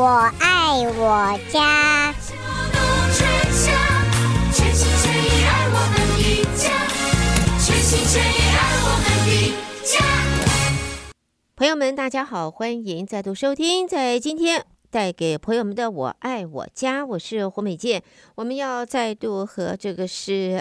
愛我家。全心全意愛我們的家，全心全意愛我們的家。朋友們，大家好，歡迎再度收聽，在今天帶給朋友們的我愛我家，我是胡美健。我們要再度和這個是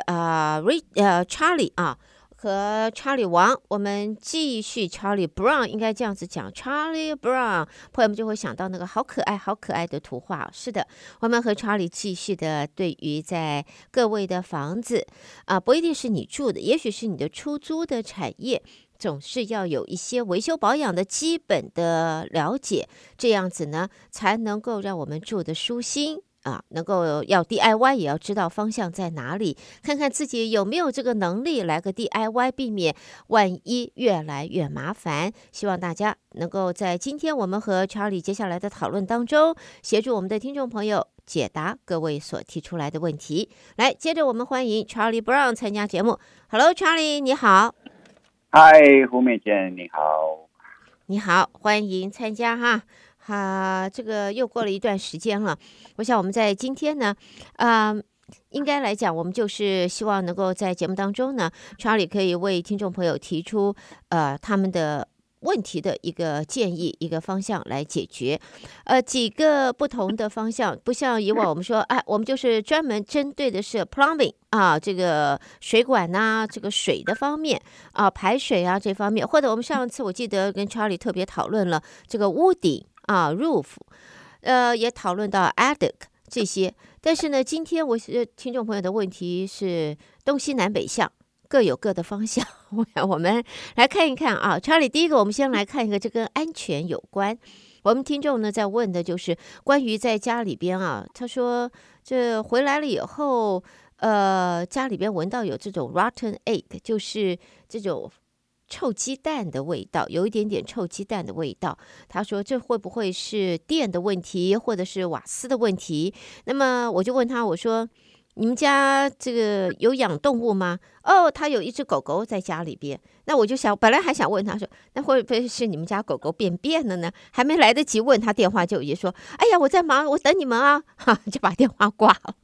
Charlie 啊，和 Charlie 王，我們繼續 Charlie Brown， 應該這樣子講 Charlie Brown， 朋友們就會想到那個好可愛好可愛的圖畫。是的，我們和 Charlie 繼續的對於在各位的房子不一定是你住的，也許是你的出租的產業，總是要有一些維修保養的基本的了解，這樣子呢才能夠讓我們住得舒心能夠要 DIY 也要知道方向在哪裡，看看自己有沒有這個能力來個 DIY， 避免萬一越來越麻煩。希望大家能夠在今天我們和 Charlie 接下來的討論當中，協助我們的聽眾朋友解答各位所提出來的問題。來，接着我們歡迎 Charlie Brown 參加節目。Hello Charlie， 你好。 嗨，胡美健，你好。 你好，歡迎參加哈。這個又過了一段時間了，我想我們在今天呢，應該來講，我們就是希望能夠在節目當中呢 ，Charlie 可以為聽眾朋友提出他們的問題的一個建議，一個方向來解決，幾個不同的方向，不像以往我們說，我們就是專門針對的是 plumbing 這個水管這個水的方面排水這方面，或者我們上次我記得跟 Charlie 特別討論了這個屋頂roof， 也討論到 attic 這些，但是呢，今天我聽眾朋友的問題是東西南北向。各有各的方向，我們來看一看Charlie， 第一個我們先來看一個，這跟安全有關。我們聽眾呢在問的就是關於在家裡邊他說這回來了以後，家裡邊聞到有這種 rotten egg， 就是這種臭雞蛋的味道，有一點點臭雞蛋的味道。他說這會不會是電的問題，或者是瓦斯的問題？那麼我就問他，我說，你們家這個有養動物嗎？他有一隻狗狗在家裡邊。那我就想，本來還想問他說，那會不會是你們家狗狗便便了呢？還沒來得及問他，電話就已經說，哎呀，我在忙，我等你們就把電話掛了。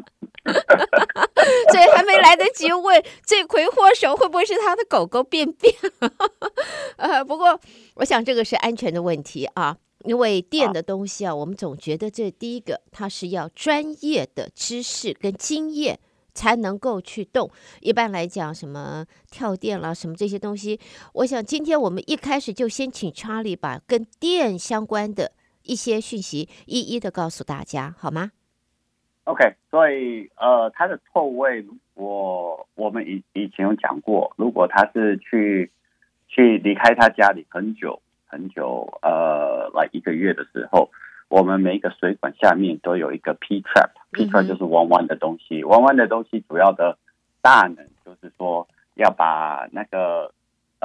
所以還沒來得及問罪魁禍首會不會是他的狗狗便便。不過我想這個是安全的問題因為電的東西我們總覺得這第一個它是要專業的知識跟經驗才能夠去動。一般來講，什麼跳電啦，什麼這些東西，我想今天我們一開始就先請 Charlie 把跟電相關的一些訊息一一的告訴大家，好嗎 ？OK， 所以它的臭味，我們以前有講過，如果他是去離開他家裡很久。來1個月的時候，我們每一個水管下面都有一個 P-trap，P trap 就是彎彎的東西。彎彎的東西主要的大能就是說要把那個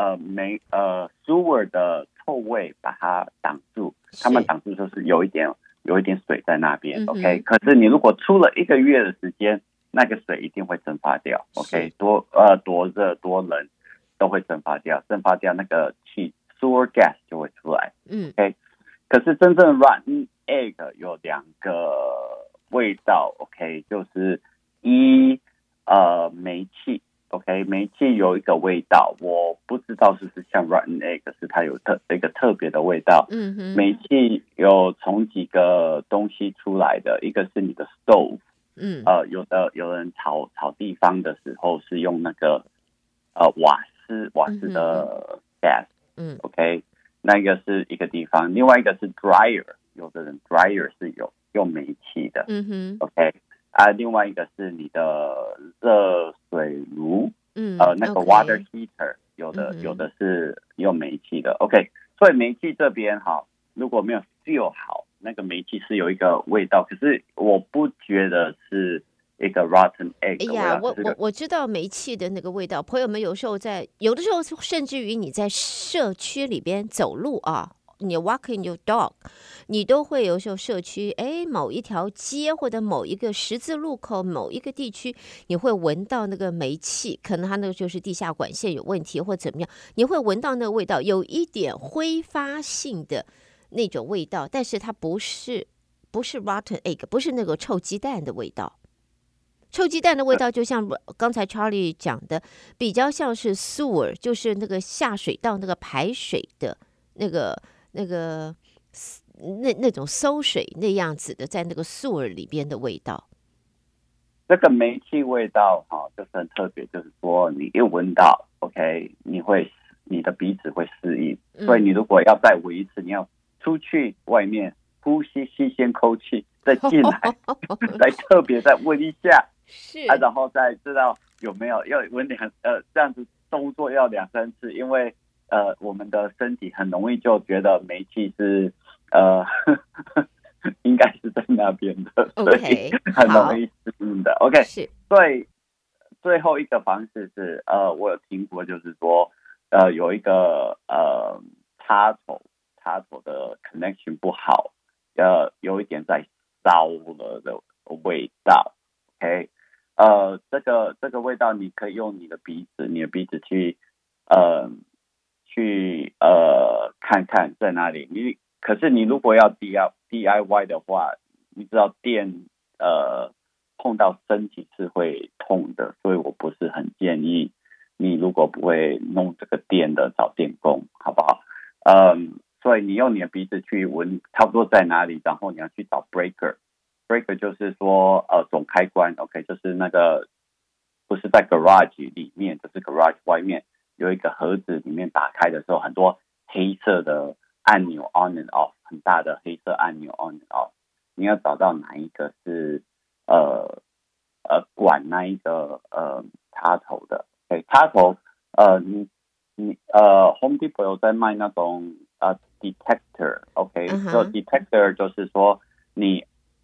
sewer 的臭味把它擋住。他們擋住就是有一點水在那邊，OK。可是你如果出了1個月的時間，那個水一定會蒸發掉，OK。多熱多冷都會蒸發掉那個氣。sewer gas 就會出來，OK。可是真正 rotten egg 有2個味道 ，OK， 就是煤氣 ，OK， 煤氣有一個味道，我不知道是不是像 rotten egg， 是它有一個特別的味道。煤气有從幾個東西出來的，一個是你的 stove， 有人炒地方的時候是用那個瓦斯的 gas。OK， 那個是一個地方，另外一個是 dryer， 有的人 dryer 是用煤氣的，OK， 另外一個是你的熱水爐，那個 water heater， 有的是用煤氣的 ，OK， 所以煤氣這邊如果沒有 seal 好，那個煤氣是有一個味道，可是我不覺得是一個 rotten egg 的味道。哎呀，我知道煤氣的那個味道。朋友們有的时候甚至于你在社區裡邊走路你 walking your dog， 你都會有時候社區某一條街或者某一個十字路口某一個地區，你會聞到那個煤氣，可能它那個就是地下管線有問題或怎麼樣，你會聞到那個味道，有一點揮發性的那種味道，但是它不是 rotten egg， 不是那個臭雞蛋的味道。臭雞蛋的味道就像剛才 Charlie 講的，比較像是 sewer， 就是那個下水道那個排水的那種餿水那樣子的，在那個 sewer 裡邊的味道。 這個煤氣味道就是很特別，就是說你一聞到 ，OK， 你的鼻子會適應，所以你如果要再聞一次，你要出去外面呼吸新鮮空氣，再進來，再特別再聞一下， 是然後再知道有沒有要聞這樣子動作要2-3次，因為我們的身體很容易就覺得煤氣是應該是在那邊的，所以很容易適應的。OK， 所以最後一個方式是我有聽過，就是說有一個插頭的 connection 不好，有一點在燒了的味道。OK， 這個味道你可以用你的鼻子去看看在哪裡。可是你如果要 DIY 的話，你知道電碰到身體是會痛的，所以我不是很建議你如果不會弄這個電的找電工，好不好？所以你用你的鼻子去聞差不多在哪裡，然後你要去找 breaker 就是說總開關 ，OK， 就是那個不是在 garage 裡面，就是 garage 外面有一個盒子，裡面打開的時候很多黑色的按鈕 on and off， 很大的黑色按鈕 on and off， 你要找到哪一個是管那一個插頭的。Okay， 插頭Home Depot 有在賣那種detector， OK， so detector 就是說你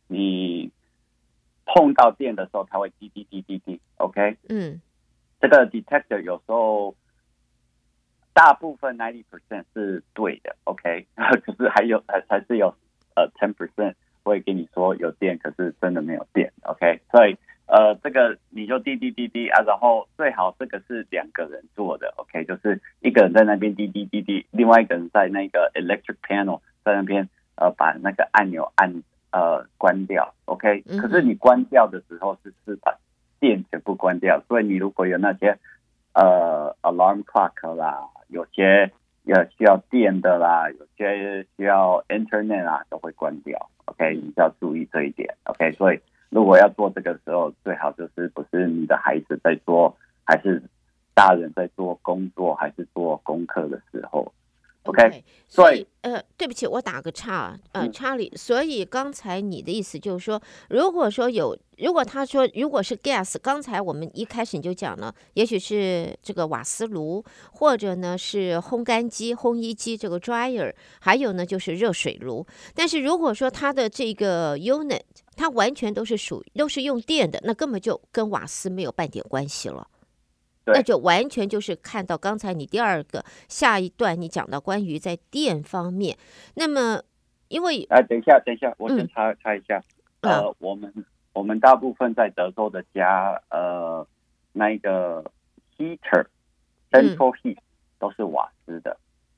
碰到電的時候它會滴滴滴滴滴 ，OK， 這個 detector 有時候大部分 90% 是對的 ，OK， 可是還是有10% 會跟你說有電，可是真的沒有電 ，OK， 所以這個你就滴滴滴滴然後最好這個是2個人做的 ，OK， 就是一個人在那邊滴滴滴滴，另外一個人在那個 electric panel 在那邊把那個按鈕關掉 ，OK， 可是你關掉的時候是把電全部關掉，所以你如果有那些alarm clock 啦，有些需要電的啦，有些需要 internet 啦，都會關掉 ，OK， 你要注意這一點 ，OK， 所以如果要做這個時候，最好就是不是你的孩子在做，還是大人在做工作，還是做功課的時候。OK， 所以對不起，我打個岔查理。所以剛才你的意思就是說，如果他說如果是 gas， 剛才我們一開始你就講了，也許是這個瓦斯爐，或者呢是烘乾機、烘衣機這個 dryer， 還有呢就是熱水爐。但是如果說它的這個 unit， 它完全都是用電的，那根本就跟瓦斯沒有半點關係了。那就完全就是看到剛才你第二個下一段你講到關於在電方面，那麼因為等一下，我先插一下，我們大部分在德州的家，那一個 heater、central heat 都是瓦斯的。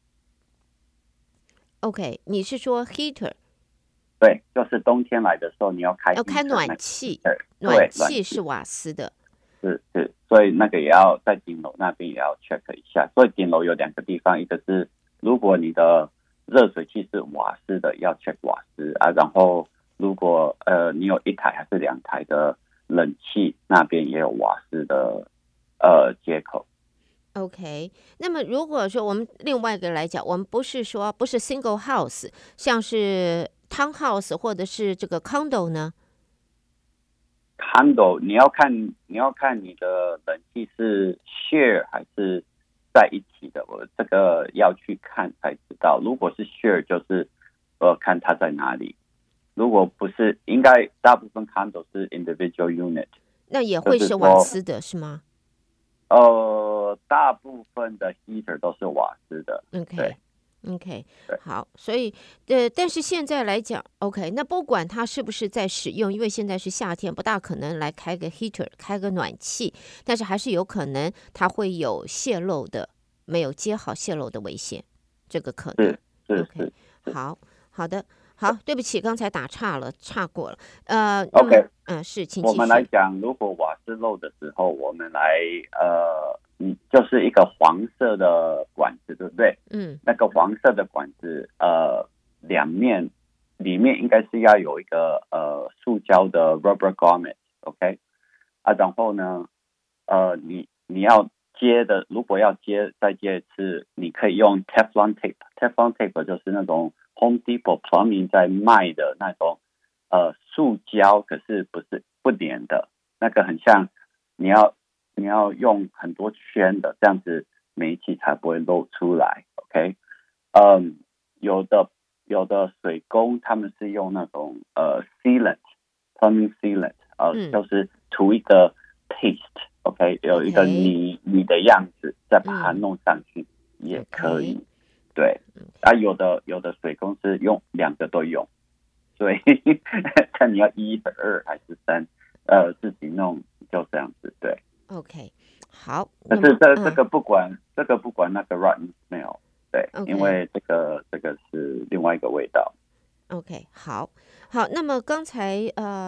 OK， 你是說 heater？ 對，就是冬天來的時候你要開暖氣，暖氣是瓦斯的。 是，所以那個也要在頂樓那邊也要 check 一下。所以頂樓有2個地方，一個是如果你的熱水器是瓦斯的，要 check 瓦斯然後如果你有1台還是2台的冷氣，那邊也有瓦斯的接口。 OK， 那麼如果說我們另外一個來講，我們不是 single house， 像是 townhouse 或者是這個 condo 呢 ？Condo 你要看你的冷氣是 share 還是在一起的，我這個要去看才知道。如果是 share 就是看它在哪裡，如果不是，應該大部分 condo 是 individual unit， 那也會是瓦斯的是嗎？ 大部分的 heater 都是瓦斯的。 OK， 好，所以但是現在來講 ，OK， 那不管它是不是在使用，因為現在是夏天，不大可能來開個 heater， 開個暖氣，但是還是有可能它會有洩漏的，沒有接好洩漏的危險，這個可能。 是 OK， 好好的，好，对不起，剛才打岔了，岔過了。 OK， 是，請繼續。 我們來講，如果瓦斯漏的時候，我們來就是一個黃色的管子，對不對？那個黃色的管子，兩面裡面應該是要有一個塑膠的 rubber grommet，OK，然後呢，你要接的，如果要再接一次，你可以用 Teflon tape。Teflon tape 就是那種 Home Depot Plumbing 在賣的那種塑膠，可是不粘的，那個很像你要用很多圈的，這樣子煤氣才不會漏出來。OK，有的水工他們是用那種sealant，plumbing sealant，就是塗一個 paste。OK， 有一個泥的樣子，再把它弄上去也可以。對，有的水工是用2個都用，所以看你要1、2還是3，自己弄就這樣子。对 ，OK， 好。 但是這個不管那個 rotten smell， 對， okay， 因為這個是另外一個味道。 OK， 好。那麼剛才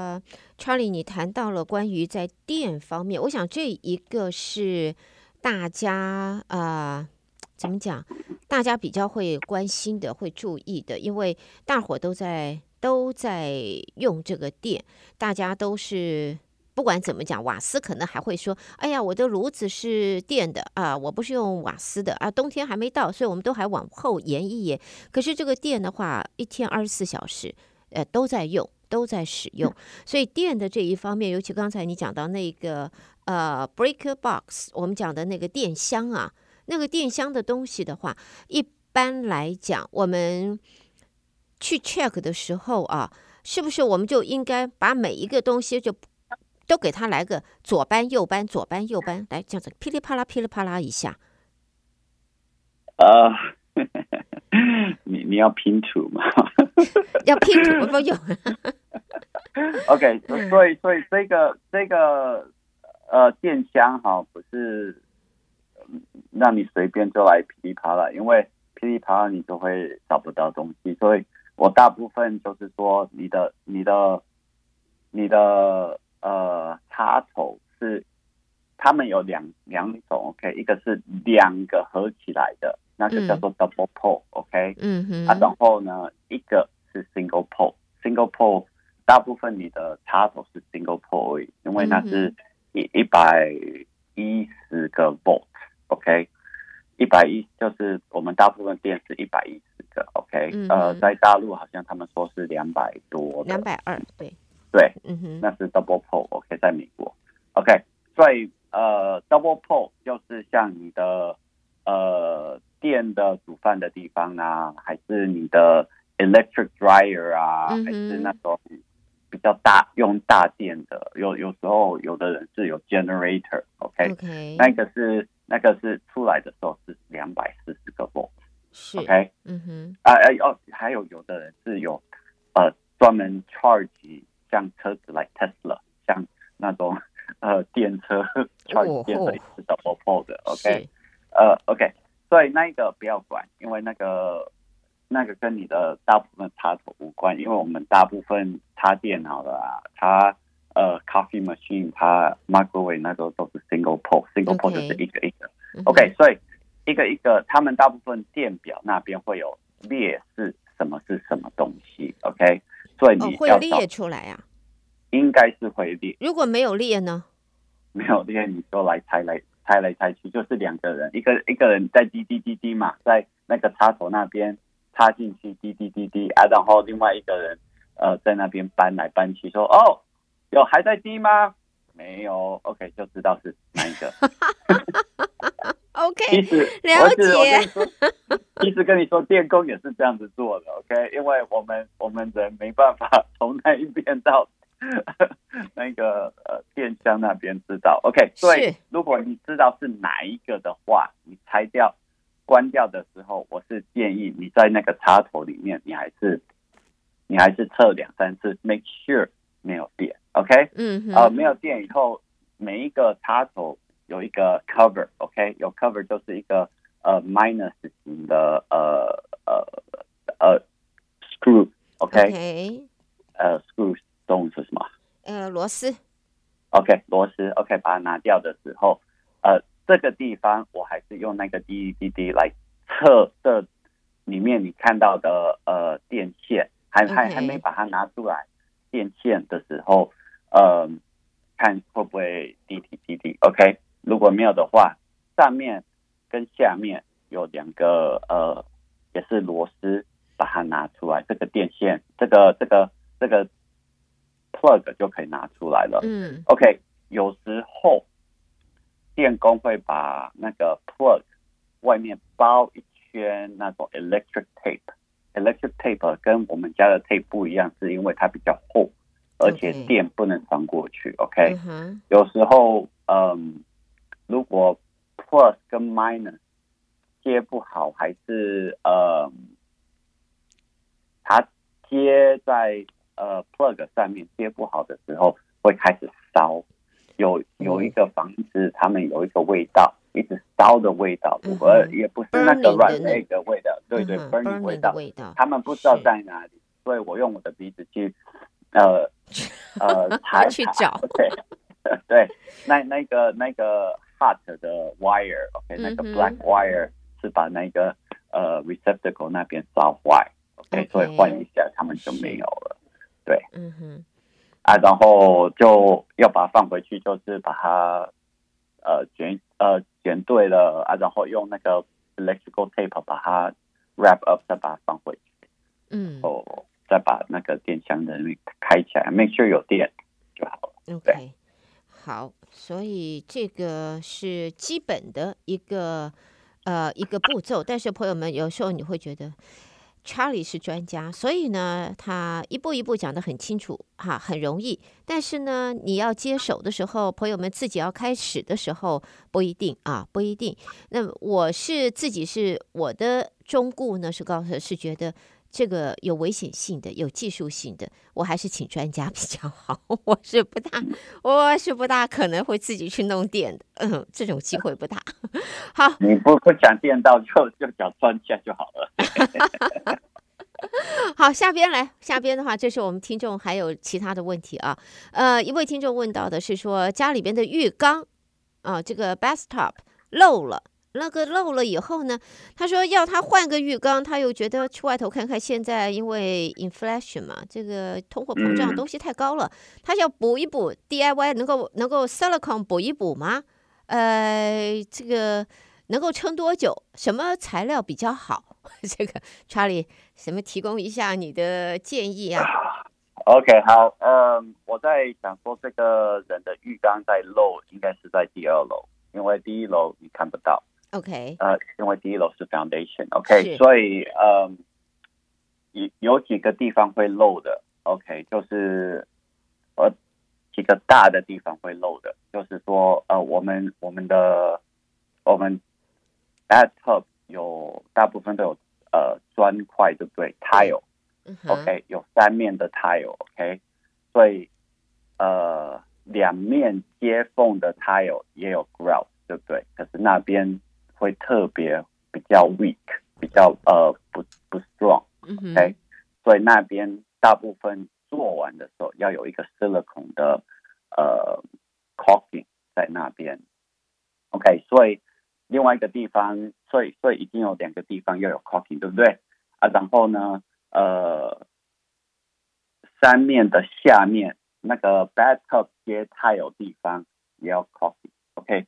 Charlie 你談到了關於在電方面，我想這一個是大家怎麼講，大家比較會關心的、會注意的，因為大夥都在用這個電，大家都是不管怎麼講，瓦斯可能還會說，哎呀，我的爐子是電的我不是用瓦斯的冬天還沒到，所以我們都還往後延一延。可是這個電的話，一天24小時都在用，都在使用，所以電的這一方面，尤其剛才你講到那個breaker box， 我們講的那個電箱那個電箱的東西的話，一般來講，我們去 check 的時候是不是我們就應該把每一個東西就都給它來個左搬右搬，左搬右搬，來這樣子噼里啪啦噼里啪啦一下。 你要拼圖嗎？ 要拼圖不用。 OK， 所以這個電箱不是讓你隨便就來噼里啪啦，因為噼里啪啦你就會找不到東西，所以我大部分就是說你的插頭是他們有兩種 OK， 一個是2個合起來的，那個叫做 double pole OK， 然後呢一個是 single pole。single pole 大部分你的插頭是 single pole 而已，因為那是110個 volt OK， 110就是我們大部分電是110個 OK， 在大陸好像他們說是200多的 220， 對，那是 double pole OK， 在美国 OK， 所以double pole 就是像你的電的煮飯的地方還是你的 electric dryer 還是那種比較用大電的，有時候有的人是有 generator OK， 那個是出來的時候是240個 volt OK， 還有的人是有專門 charge 像車子 like Tesla， 像那種電車 charge 電的也是 double pole 的 OK， OK， 所以那個不要管，因為那個跟你的大部分插頭無關，因為我們大部分插電腦的插coffee machine， 插 microwave 那個都是 single pole 就是一個一個OK， 所以一個一個他們大部分電表那邊會有列示什麼是什麼東西 OK， 所以你要會列出來應該是會列。 如果沒有列呢？ 沒有列你就來猜來猜去，就是2個人，一個人在滴滴滴滴嘛，在那個插頭那邊插進去滴滴滴滴然後另外一個人在那邊搬來搬去說有還在滴嗎？沒有 OK， 就知道是哪一個。 OK， 了解。其實跟你說，電工也是這樣子做的 OK， 因為我們人沒辦法從那一邊到那個電箱那邊知道 OK， 所以如果你知道是哪一個的话，你拆掉關掉的時候，我是建議你在那個插頭裡面你還是測2-3次 make sure 沒有電 OK， 沒有電以後每一個插頭有一個 cover OK， 有 cover 就是一個minus 型的 screw，OK，screw 中文是什么？ 螺絲。 OK， 螺絲 OK， 把它拿掉的時候，這個地方我還是用那個 DEDD 來測這裡面你看到的電線，還沒把它拿出來，電線的時候，看會不會 DEDD OK， 如果沒有的話，上面跟下面有兩個也是螺絲，把它拿出來，這個電線這個 plug 就可以拿出來了。OK， 有時候電工會把那個 plug 外面包一圈那種 electric tape。electric tape 跟我們家的 tape 不一樣，是因為它比較厚，而且電不能穿過去。OK， 有時候如果 plus 跟 minus 接不好，還是它接在plug 上面接不好的時候，會開始燒。有一個房子，他們有一個味道，一直燒的味道，也不是那個軟那個味道，對對 ，burning 味道，他們不知道在哪裡，所以我用我的鼻子去去找， 對，那個 hot 的 wire，OK， 那個 black wire 是把那個receptacle 那邊燒壞 ，OK， 所以換一下，他們就沒有了，對，然後就要把它放回去，就是把它捲對了然後用那個 electrical tape 把它 wrap up， 再把它放回去，再把那個電箱的開起來 ，make sure 有電就好了。 OK， 好，所以這個是基本的一個步驟，但是朋友們有時候你會覺得。Charlie 是專家，所以呢，他一步一步講得很清楚，很容易。但是呢，你要接手的時候，朋友們自己要開始的時候，不一定。那我的忠告呢，是覺得這個有危險性的，有技術性的，我還是請專家比較好。我是不大可能會自己去弄電的，這種機會不大。好， 你不講電到就找專家就好了。 好，下邊的話，這是我們聽眾還有其他的問題啊。一位聽眾問到的是說，家裡邊的浴缸這個 bathtub 漏了。那個漏了以後呢，他說要他換個浴缸，他又覺得去外頭看看，現在因為 inflation 嘛，這個通貨膨脹東西太高了，他要補一補 DIY 能夠 silicone 補一補嗎？這個能夠撐多久？什麼材料比較好？這個 Charlie 什麼提供一下你的建議啊 ？OK， 好，我在想說這個人的浴缸在漏，應該是在第二樓，因為第一樓你看不到。 OK， 因為第一樓是 foundation，OK， 所以有幾個地方會漏的 ，OK， 就是幾個大的地方會漏的，就是說我們 bathtub 有大部分都有磚塊，對不對 ？tile，OK， 有三面的 tile，OK， 所以兩面接縫的 tile 也有 grout， 對不對？可是那邊會特別比較 weak， 比較不 strong，OK， 所以那邊大部分做完的時候要有一個 silicone 的caulking 在那邊 ，OK， 所以另外一個地方，所以已經有兩個地方要有 caulking， 對不對？然後呢，三面的下面那個 bathtub 接 tile 地方也要 caulking，OK，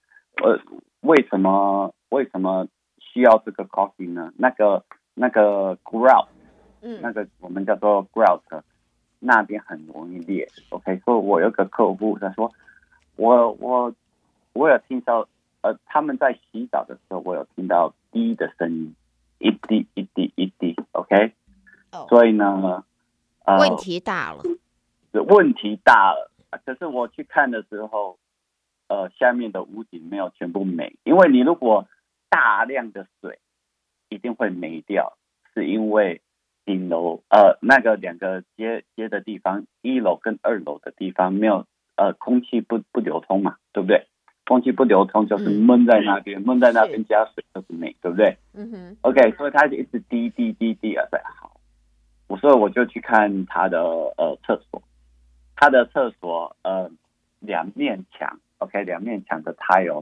為什麼需要這個 caulking 呢？那個 grout， 那個我們叫做 grout， 那邊很容易裂。OK， 所以我有個客戶他說，我有聽到他們在洗澡的時候，我有聽到滴的聲音，一滴一滴一滴。OK， 所以呢， 問題大了。 問題大了。可是我去看的時候，下面的屋頂沒有全部沒，因為你如果大量的水一定會沒掉，是因為頂樓那個兩個接的地方，一樓跟二樓的地方沒有空氣不流通嘛，對不對？空氣不流通就是悶在那邊，悶在那邊加水就是沒，對不對？OK， 所以它就一直滴滴滴滴啊，好， 所以我就去看他的廁所，他的廁所两面牆 ，OK， 两面墙的 tile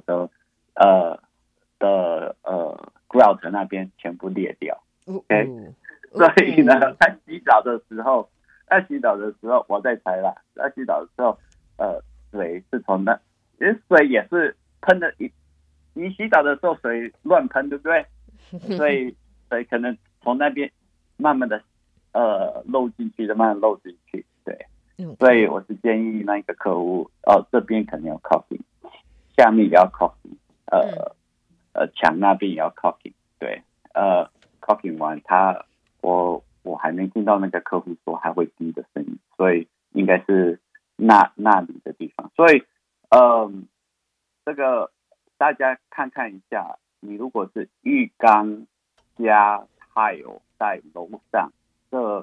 的grout 那邊全部裂掉 ，OK，所以呢，在洗澡的时候，我在猜啦，在洗澡的时候，水是从那，因為水也是噴的，你洗澡的時候水亂噴，對不對？所以可能從那邊慢慢的漏進去的，慢慢漏進去，對。所以我是建議那個客戶，這邊可能要 caulking， 下面也要 caulking， 牆那邊也要 caulking， 對，caulking 完我還沒聽到那個客戶說還會滴的聲音，所以應該是那裡的地方，所以這個大家看看一下，你如果是浴缸加 tile 在樓上這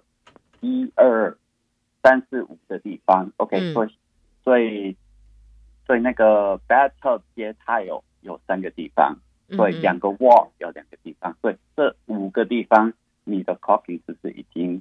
1、2、3、4、5的地方 ，OK，所以那個 bathtub 接 tile 有3個地方，所以2個 wall 有2個地方，所以這5個地方你的 caulking 是不是已經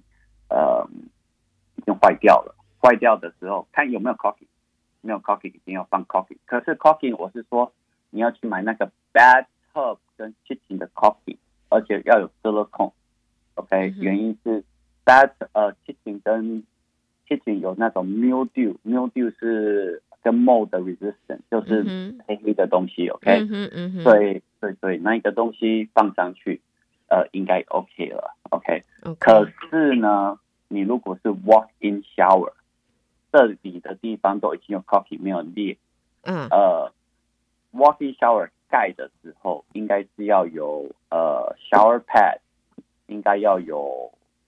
壞掉了？壞掉的時候看有沒有 caulking， 沒有 caulking 一定要放 caulking。可是 caulking 我是說你要去買那個 bathtub 跟 kitchen 的 caulking， 而且要有 silicone。OK， 原因是 kitchen 跟 kitchen 有那種 mildew 是跟 mold 的 resistant， 就是黑的東西。OK， 所以那個東西放上去，應該 OK 了。OK， 可是呢，你如果是 walk-in shower， 這裡的地方都已經有 caulking 沒有裂。walk-in shower 蓋的時候，應該是要有shower pad， 應該要有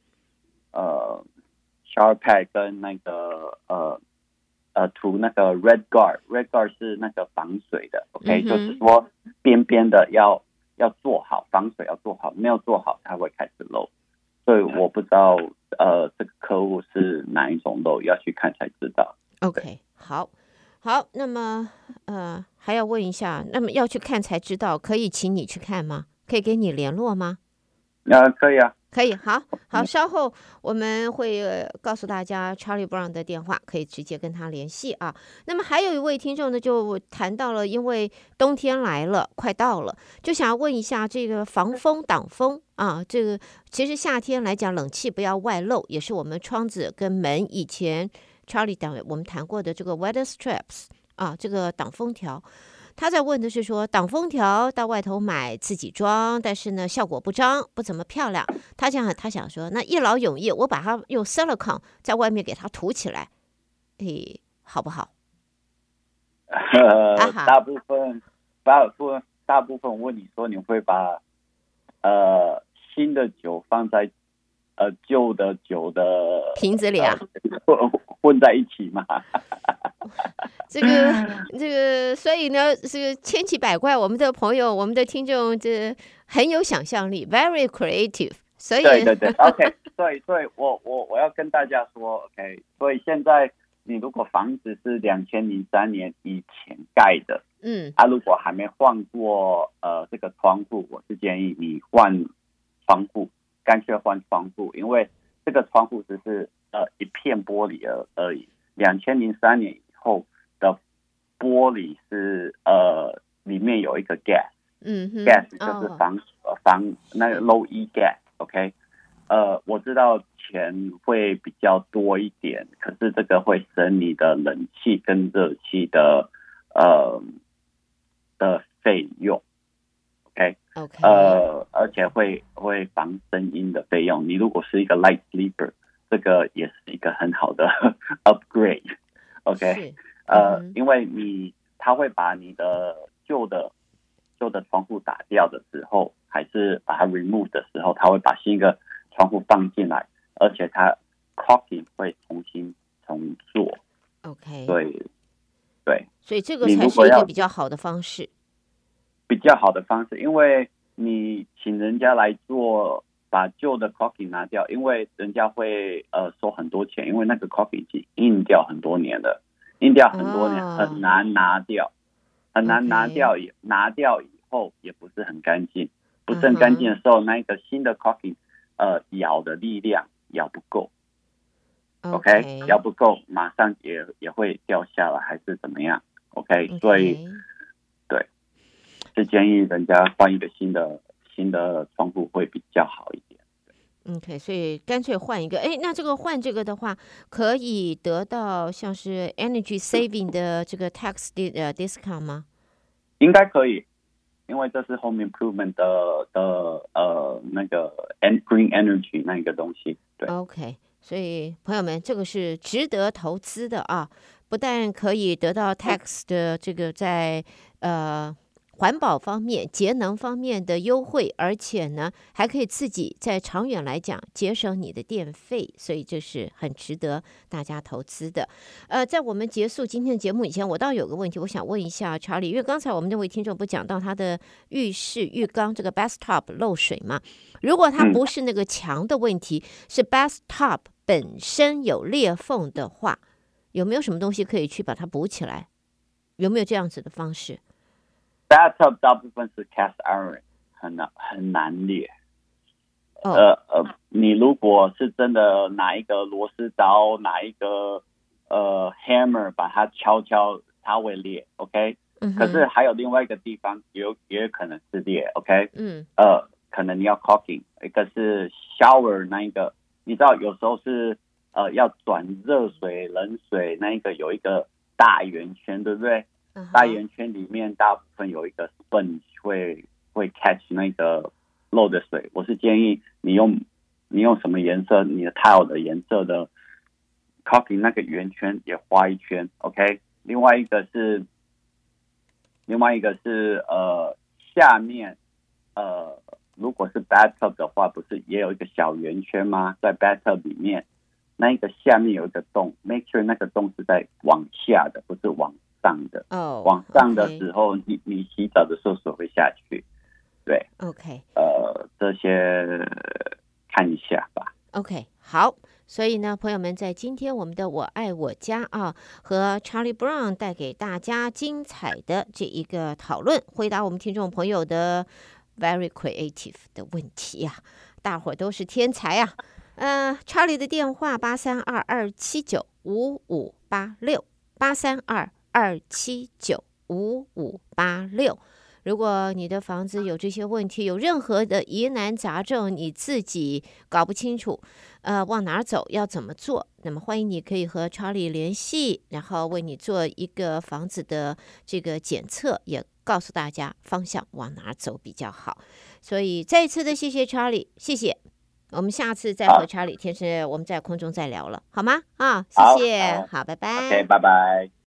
shower pad 跟那個塗那個 red guard 是那個防水的。OK，就是說邊邊的要做好，防水要做好，沒有做好它會開始漏。所以我不知道這個客戶是哪一種漏，要去看才知道。 OK， 好，那麼還要問一下，那麼要去看才知道，可以請你去看嗎？可以給你聯絡嗎？ 可以啊。 可以，好，稍後我們會告訴大家 Charlie Brown 的電話，可以直接跟他聯繫啊。那麼還有一位聽眾呢，就談到了，因為冬天來了，快到了，就想要問一下這個防風擋風啊，這個其實夏天來講，冷氣不要外漏，也是我們窗子跟門以前 Charlie 我們談過的這個 weather strips 啊，這個擋風條。他在問的是說，擋風條到外頭買自己裝，但是呢效果不彰，不怎麼漂亮。他想說，那一勞永逸，我把它用 silicone 在外面給它塗起來，好不好？ 大部分我問你說，你會把新的酒放在舊的酒的瓶子裡啊， 混在一起嗎？ 這個，所以呢，這個千奇百怪。我們的朋友，我們的聽眾，這很有想象力 ，very creative。所以，對 ，OK， 所以我要跟大家說 ，OK， 所以現在你如果房子是2003年以前蓋的，如果還沒換過這個窗戶，我是建議你換窗戶，乾脆換窗戶，因為這個窗戶只是一片玻璃而已。2003年以後的玻璃是裡面有一個 gas，gas 就是防那個 low E gas，OK， 我知道錢會比較多一點，可是這個會省你的冷氣跟熱氣的費用 ，OK， 而且會防聲音的費用。你如果是一個 light sleeper， 這個也是一個很好的 upgrade，OK， 因為他會把你的舊的窗戶打掉的時候，還是把它 remove 的時候，他會把新一個窗戶放進來，而且它 caulking 會重做。 OK， 對， 所以這個才是一個比較好的方式。 比較好的方式，因為你請人家來做，把舊的 caulking 拿掉，因為人家會收很多錢，因為那個 caulking 已經印掉很多年了，很難拿掉，很難拿掉，拿掉以後也不是很乾淨，不是很乾淨的時候，那個新的 caulking 咬的力量咬不夠。OK， 咬不夠，馬上也會掉下來，還是怎麼樣 ？OK， 所以對，是建議人家換一個新的窗戶會比較好一點。 OK， 所以乾脆換一個。哎，那這個換這個的話，可以得到像是 energy saving 的這個 tax discount 嗎？ 應該可以，因為這是 home improvement 的那個 green energy 那一個東西。對 ，OK。所以朋友們，這個是值得投資的啊！不但可以得到 tax 的這個在環保方面、節能方面的優惠，而且呢，還可以自己在長遠來講節省你的電費，所以這是很值得大家投資的。在我們結束今天的節目以前，我倒有個問題，我想問一下 Charlie， 因為剛才我們那位聽眾不講到他的浴室浴缸這個 bathtub 漏水嗎？如果它不是那個牆的問題，是 bathtub 本身有裂縫的話，有沒有什麼東西可以去把它補起來？有沒有這樣子的方式 ？Bathtub 大部分是 cast iron， 很難裂。你如果是真的拿一個螺絲刀，拿一個hammer 把它敲，它會裂。OK，可是還有另外一個地方也有可能是裂。OK，可能你要 caulking， 一個是 shower 那一個，你知道有時候是要轉熱水、冷水，那一個有一個大圓圈，對不對？大圓圈裡面大部分有一個 sponge 會 catch 那個漏的水。我是建議你用什麼顏色，你的 tile 的顏色的 caulking 那個圓圈也畫一圈。OK， 另外一個是下面如果是 bathtub 的話，不是也有一個小圓圈嗎？在 bathtub 裡面，那一個下面有一個洞 ，make sure 那個洞是在往下的，不是往上的。往上的時候，你洗澡的时候水會下去。對 ，OK， 這些看一下吧。 OK， 好。所以呢，朋友們，在今天我们的我愛我家啊，和 Charlie Brown 帶給大家精彩的這一個討論，回答我們聽眾朋友的 very creative 的問題啊，大夥都是天才啊。Charlie 的電話832-279-5586，832-279-5586。如果你的房子有這些問題，有任何的疑難雜症，你自己搞不清楚，往哪兒走，要怎麼做，那麼歡迎你可以和 Charlie 聯繫，然後為你做一個房子的這個檢測，也告訴大家方向往哪兒走比較好。所以再一次的謝謝 Charlie， 謝謝。我們下次再和 Charlie 天生我們在空中再聊了，好嗎？謝謝，好，拜拜。 OK， 拜拜。